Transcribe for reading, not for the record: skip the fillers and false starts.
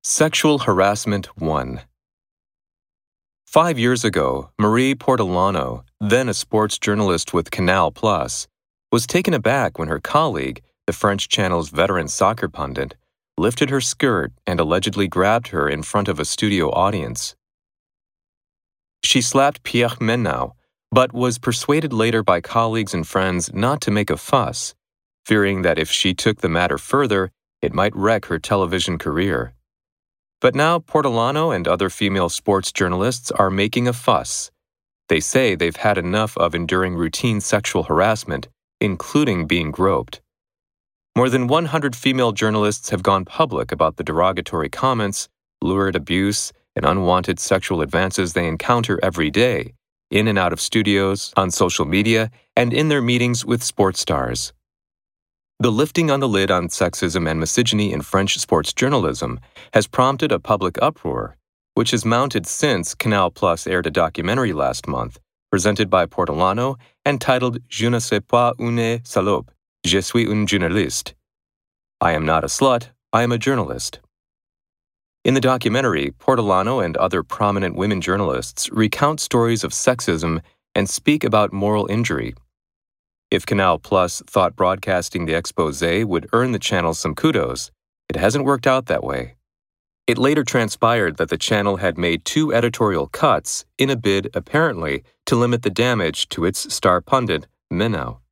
Sexual Harassment 1. 5 years ago, Marie Portolano, then a sports journalist with Canal+, was taken aback when her colleague, the French channel's veteran soccer pundit, lifted her skirt and allegedly grabbed her in front of a studio audience. She slapped Pierre Menau, but was persuaded later by colleagues and friends not to make a fuss, fearing that if she took the matter further, it might wreck her television career. But now Portolano and other female sports journalists are making a fuss. They say they've had enough of enduring routine sexual harassment, including being groped. More than 100 female journalists have gone public about the derogatory comments, lurid abuse, and unwanted sexual advances they encounter every day, in and out of studios, on social media, and in their meetings with sports stars. The lifting on the lid on sexism and misogyny in French sports journalism has prompted a public uproar, which has mounted since Canal+ aired a documentary last month, presented by Portolano and titled Je ne suis pas une salope, je suis une journaliste. I am not a slut, I am a journalist. In the documentary, Portolano and other prominent women journalists recount stories of sexism and speak about moral injury. If Canal+ thought broadcasting the exposé would earn the channel some kudos, it hasn't worked out that way. It later transpired that the channel had made 2 editorial cuts in a bid, apparently, to limit the damage to its star pundit, Menau.